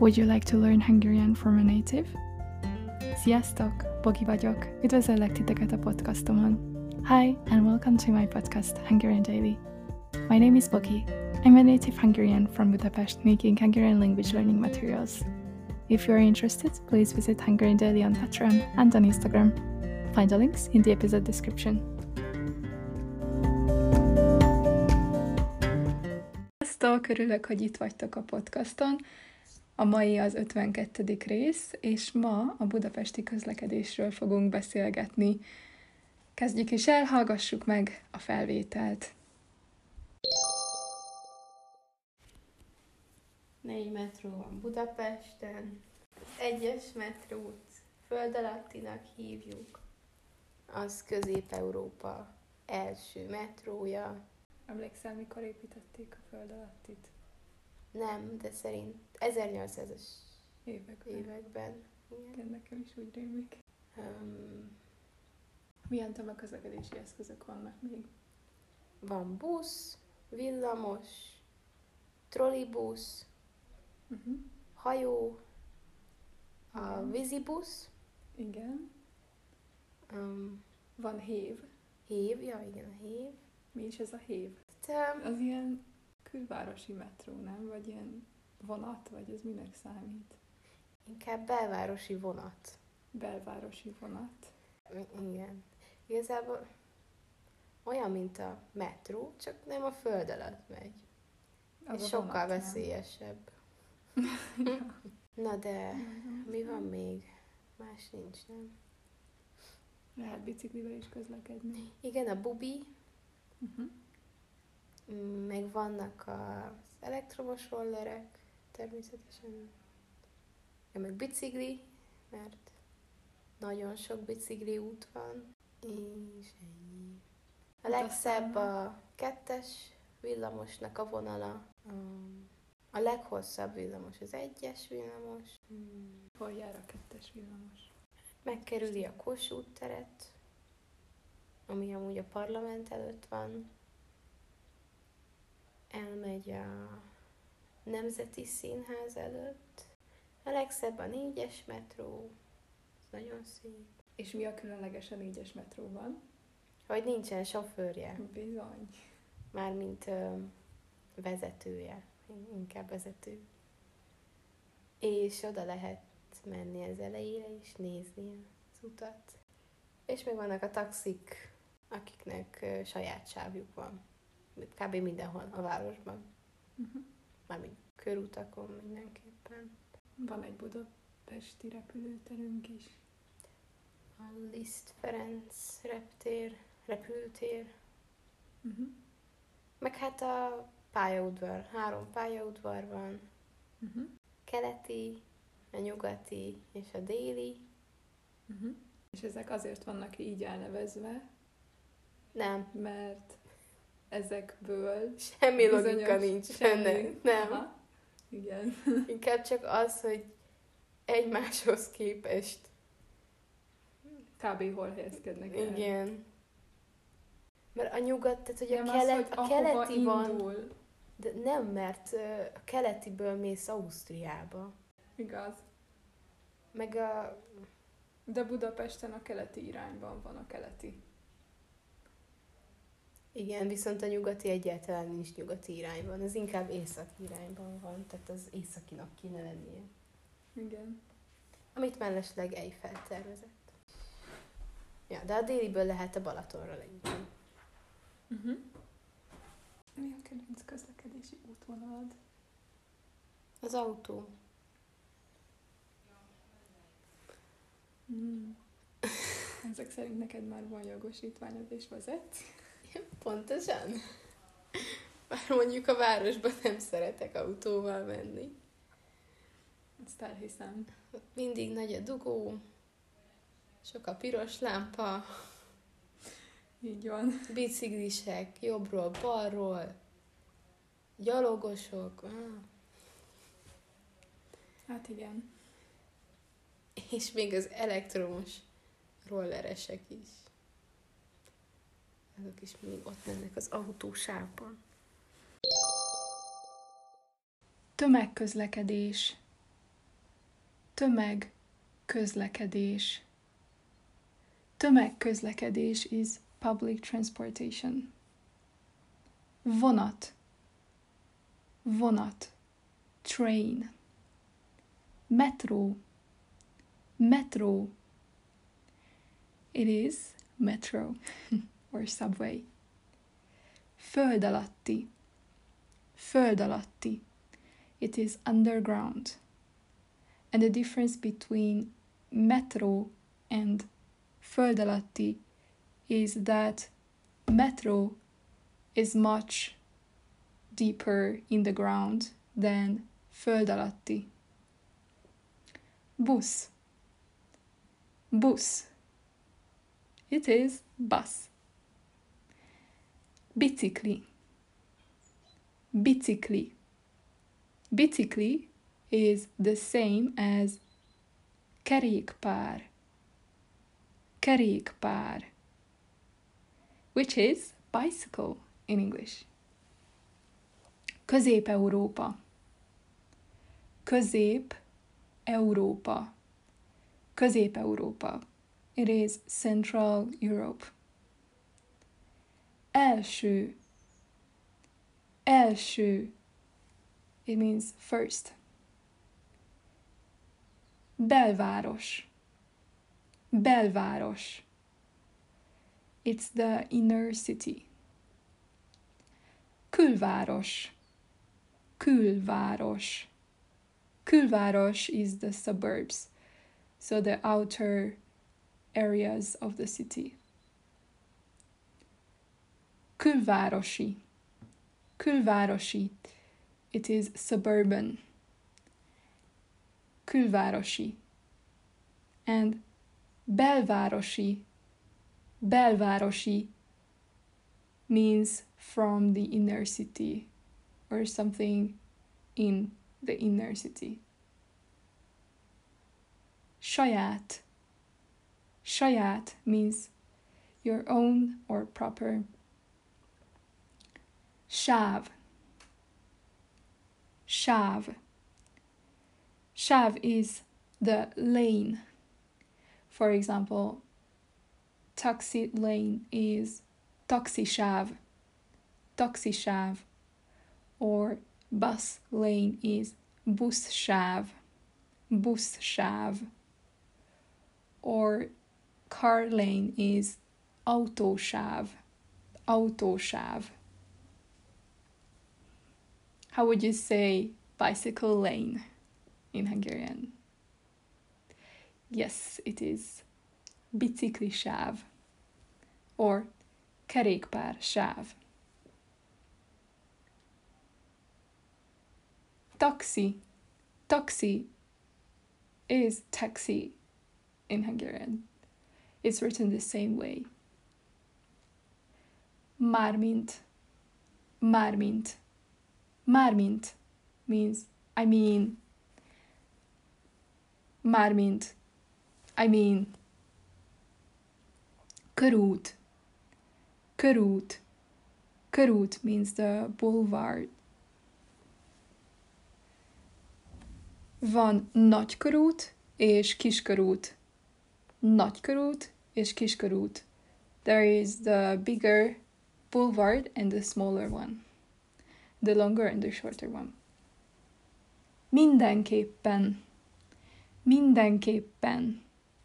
Would you like to learn Hungarian from a native? Sziasztok! Bogi vagyok. Üdvözöllek titeket a podcastomon. Hi, and welcome to my podcast, Hungarian Daily. My name is Bogi. I'm a native Hungarian from Budapest making Hungarian language learning materials. If you are interested, please visit Hungarian Daily on Patreon and on Instagram. Find the links in the episode description. Sziasztok! Örülök, hogy itt vagytok a podcaston. A mai az 52. rész, és ma a budapesti közlekedésről fogunk beszélgetni. Kezdjük is el, hallgassuk meg a felvételt. 4 metró van Budapesten, az 1-es metrót föld alattinak hívjuk, az Közép-Európa első metrója. Emlékszel, mikor építették a föld alattit? Nem, de szerint 1800-as években. Igen, nekem is úgy rémlik. Milyen tömegközlekedési eszközök vannak még? Van busz, villamos, trollibusz, hajó, a vízibusz. Igen. Van hév. Hév, ja igen, a hév. Mi is ez a hév? Az ilyen külvárosi metró, nem? Vagy ilyen vonat, vagy ez minek számít? Inkább belvárosi vonat. Belvárosi vonat. Igen. Igazából olyan, mint a metró, csak nem a föld alatt megy. Ez sokkal vonat, veszélyesebb. Na de, mi van még? Más nincs, nem? Lehet biciklivel is közlekedni. Igen, a bubi. Meg vannak az elektromos rollerek, természetesen. Meg bicikli, mert nagyon sok bicikli út van. És ennyi. A legszebb a 2-es villamosnak a vonala. A leghosszabb villamos az 1-es villamos. Hol jár a 2-es villamos? Megkerüli a Kossuth teret, ami amúgy a parlament előtt van. Elmegy a Nemzeti Színház előtt. A legszebb a 4-es metró. Ez nagyon szép. És mi a különleges a 4-es metróban? Hogy nincsen sofőrje. Bizony. Mármint vezetője. Inkább vezető. És oda lehet menni az elejére és nézni az utat. És még vannak a taxik, akiknek saját sávjuk van. Kb. Mindenhol a városban. Mármint körutakon mindenképpen. Van egy budapesti repülőterünk is. A Liszt Ferenc repülőtér. Meg hát a pályaudvar. 3 pályaudvar van. Keleti, a nyugati és a déli. És ezek azért vannak így elnevezve? Nem. Mert ezekből semmi logika nincs benne. Nem. Aha. Igen. Inkább csak az, hogy egymáshoz képest. Kb. Hol helyezkednek el. Igen. Mert a nyugat, tehát hogy a keleti van. Indul. De nem, mert a keletiből mész Ausztriába. Igaz. Meg a... De Budapesten a keleti irányban van a keleti. Igen, viszont a nyugati egyáltalán nincs nyugati irányban. Az inkább északi irányban van, tehát az északinak kéne lennie. Igen. Amit mellesleg Eiffel tervezett. Ja, de a déliből lehet a Balatonra leütni. Mi a kedvenc közlekedési útvonalad? Az autó. Ezek szerint neked már van jogosítványod és vezetsz? Pontosan. Bár mondjuk a városban nem szeretek autóval menni. Ezt elhiszem. Mindig nagy a dugó, sok a piros lámpa. Így van. Biciklisek, jobbról, balról, gyalogosok. Hát igen. És még az elektromos rolleresek is. Azok is mindig ott mennek az autósávban. Tömegközlekedés. Tömegközlekedés. Tömegközlekedés is public transportation. Vonat. Vonat. Train. Metro. Metro. It is metro or subway. Föld alatti. Föld alatti. It is underground. And the difference between metro and föld alatti is that metro is much deeper in the ground than föld alatti. Busz. Busz. It is bus. Bicikli. Bicikli. Bicikli is the same as kerékpár. Kerékpár, which is bicycle in English. Közép-Európa. Közép-Európa. Közép-Európa. It is Central Europe. Első. Első. It means first. Belváros. Belváros. It's the inner city. Külváros. Külváros. Külváros is the suburbs, so the outer areas of the city. Külvárosi. Külvárosi. It is suburban. Külvárosi. And belvárosi. Belvárosi means from the inner city or something in the inner city. Saját. Saját means your own or proper. Sáv. Sáv. Sáv is the lane. For example, taxi lane is taxisáv. Taxisáv. Or bus lane is buszsáv. Buszsáv. Or car lane is autósáv. Autósáv. How would you say bicycle lane in Hungarian? Yes, it is biciklisáv or kerékpársáv. Taxi. Taxi is taxi in Hungarian. It's written the same way. Mármint. Mármint. Mármint means I mean. Mármint. I mean. Körút. Körút. Körút means the boulevard. Van nagykörút és kiskörút. Nagykörút és kiskörút. There is the bigger boulevard and the smaller one. The longer and the shorter one. Mindenképpen. Mindenképpen.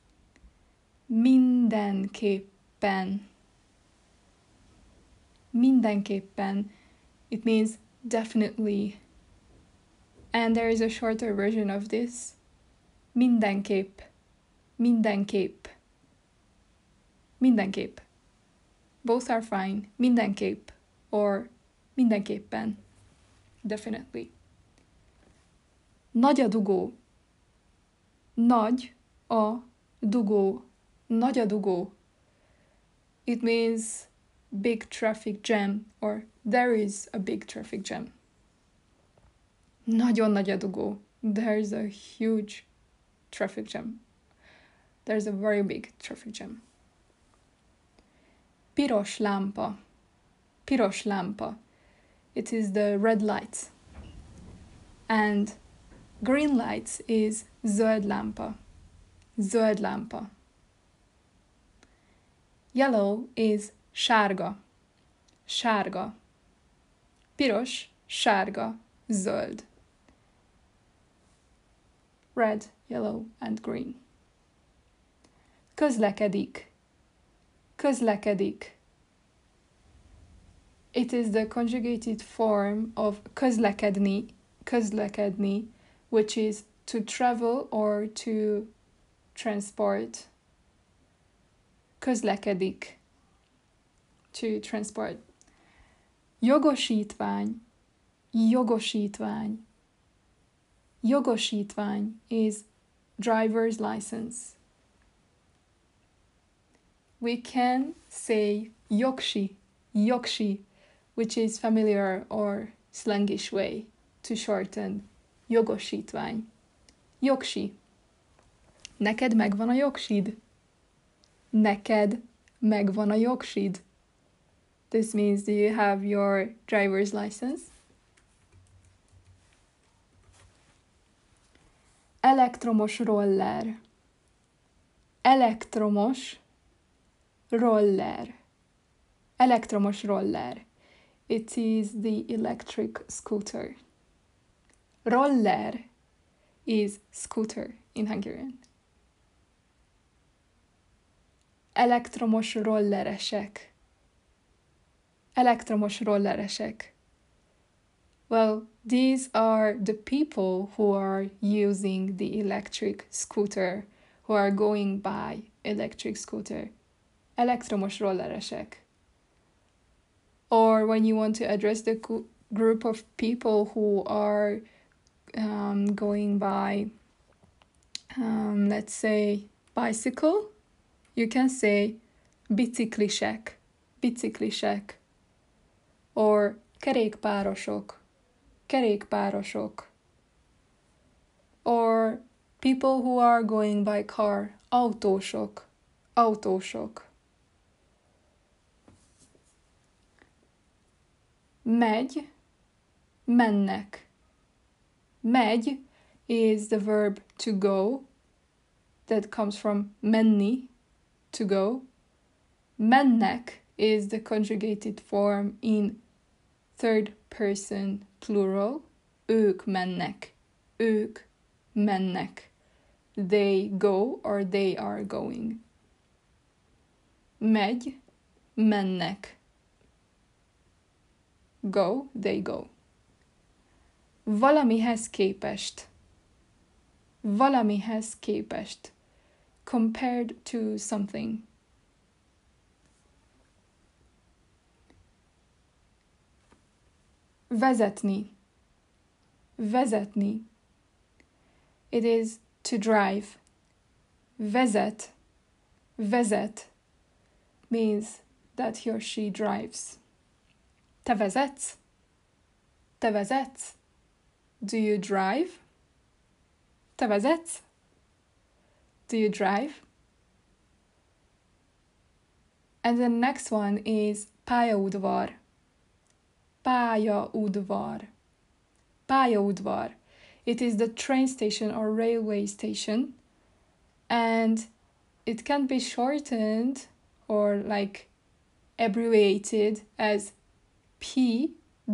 Mindenképpen. Mindenképpen. It means definitely. And there is a shorter version of this. Mindenképp. Mindenképp. Mindenképp. Both are fine. Mindenképp. Or mindenképpen. Definitely. Nagy a dugó. Nagy a dugó. Nagy a dugó. It means big traffic jam or there is a big traffic jam. Nagyon nagy a dugó. There's a huge traffic jam. There's a very big traffic jam. Piros lámpa. Piros lámpa. It is the red lights. And green lights is zöld lámpa, zöld lámpa. Yellow is sárga, sárga. Piros, sárga, zöld. Red, yellow and green. Közlekedik, közlekedik. It is the conjugated form of közlekedni, közlekedni, which is to travel or to transport. Közlekedik, to transport. Jogosítvány, jogosítvány. Jogosítvány is driver's license. We can say jogsi, jogsi, which is familiar or slangish way to shorten jogosítvány. Jogsi. Neked megvan a jogsid? Neked megvan a jogsid? This means, do you have your driver's license? Elektromos roller. Elektromos roller. Elektromos roller. It is the electric scooter. Roller is scooter in Hungarian. Elektromos rolleresek. Elektromos rolleresek. Well, these are the people who are using the electric scooter, who are going by electric scooter. Elektromos rolleresek. Or when you want to address the group of people who are going by, let's say, bicycle, you can say biciklisek, biciklisek. Or kerékpárosok, kerékpárosok. Or people who are going by car, autósok, autósok. Megy, mennek. Megy is the verb to go, that comes from menni, to go. Mennek is the conjugated form in third person plural. Ők mennek, ők mennek. They go or they are going. Megy, mennek. Go, they go. Valamihez képest. Valamihez képest. Compared to something. Vezetni. Vezetni. It is to drive. Vezet. Vezet means that he or she drives. Te vezetsz? Te vezetsz? Do you drive? Te vezetsz? Do you drive? And the next one is pályaudvar. Pályaudvar. Pályaudvar. It is the train station or railway station, and it can be shortened or like abbreviated as P.U.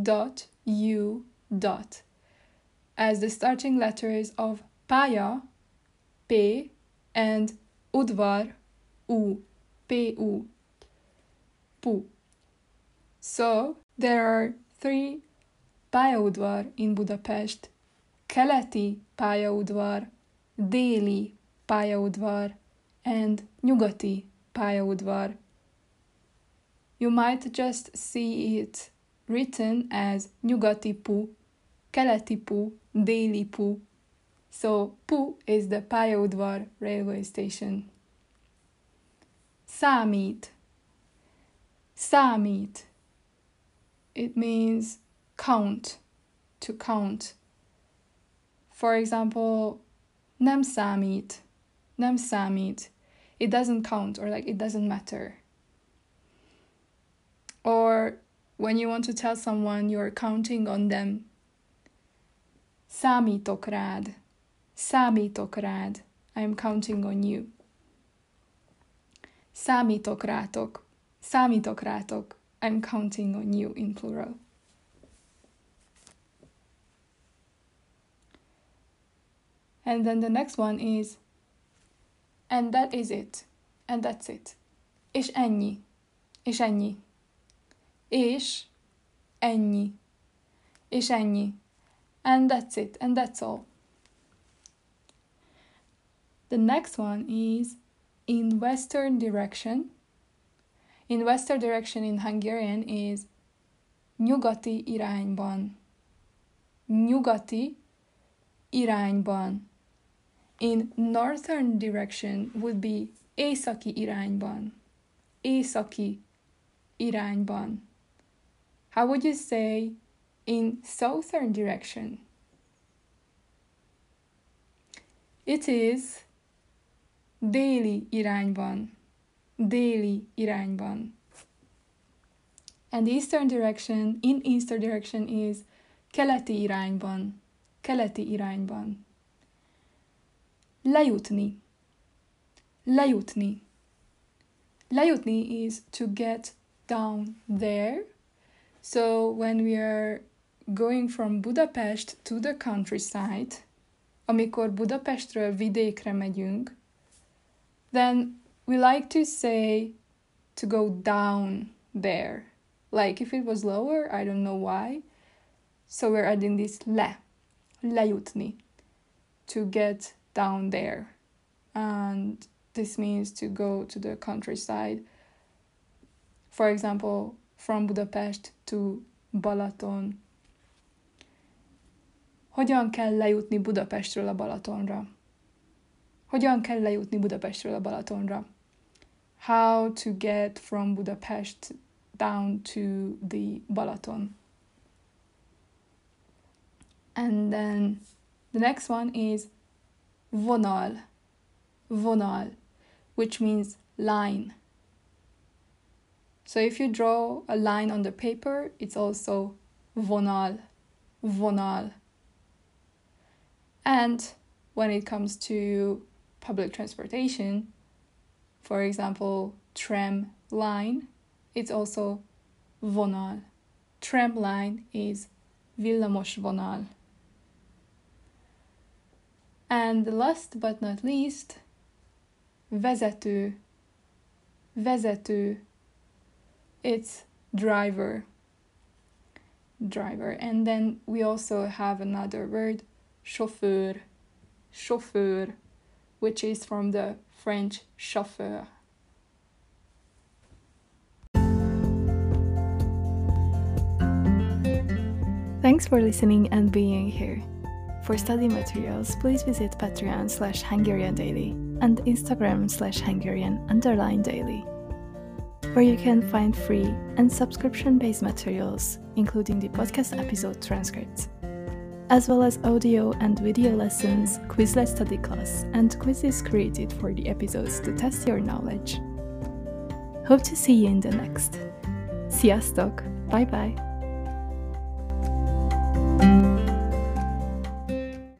as the starting letters of pálya, P, and udvar, U, P-U, Pu. So, there are 3 pályaudvar in Budapest: keleti pályaudvar, déli pályaudvar, and nyugati pályaudvar. You might just see it written as nyugati Pu, keleti Pu, déli Pu. So, Pu is the pályaudvar railway station. Számít. Számít. It means count, to count. For example, nem számít. Nem számít. It doesn't count, or like it doesn't matter. Or when you want to tell someone you're counting on them, számítok rád. Számítok rád. I'm counting on you. Számítok rátok. Számítok rátok. I'm counting on you in plural. And then the next one is, and that is it. And that's it. És ennyi. És ennyi. És ennyi. És ennyi. And that's it. And that's all. The next one is in western direction. In western direction in Hungarian is nyugati irányban. Nyugati irányban. In northern direction would be északi irányban. Északi irányban. How would you say in southern direction? It is déli irányban. Déli irányban. And eastern direction, in eastern direction is keleti irányban. Keleti irányban. Lejutni. Lejutni. Lejutni is to get down there. So when we are going from Budapest to the countryside, amikor Budapestről vidékre megyünk, then we like to say to go down there. Like if it was lower, I don't know why. So we're adding this lejutni, to get down there. And this means to go to the countryside. For example, from Budapest to Balaton. Hogyan kell lejutni Budapestről a Balatonra? Hogyan kell lejutni Budapestről a Balatonra? How to get from Budapest down to the Balaton. And then the next one is vonal. Vonal, which means line. So if you draw a line on the paper, it's also vonal. Vonal. And when it comes to public transportation, for example, tram line, it's also vonal. Tram line is villamos vonal. And last but not least, vezető. Vezető. It's driver. Driver. And then we also have another word, chauffeur. Chauffeur, which is from the French chauffeur. Thanks for listening and being here. For study materials, please visit Patreon/Hungarian Daily and Instagram/Hungarian_Daily, where you can find free and subscription-based materials, including the podcast episode transcripts, as well as audio and video lessons, Quizlet study class, and quizzes created for the episodes to test your knowledge. Hope to see you in the next. Sziasztok! Bye bye!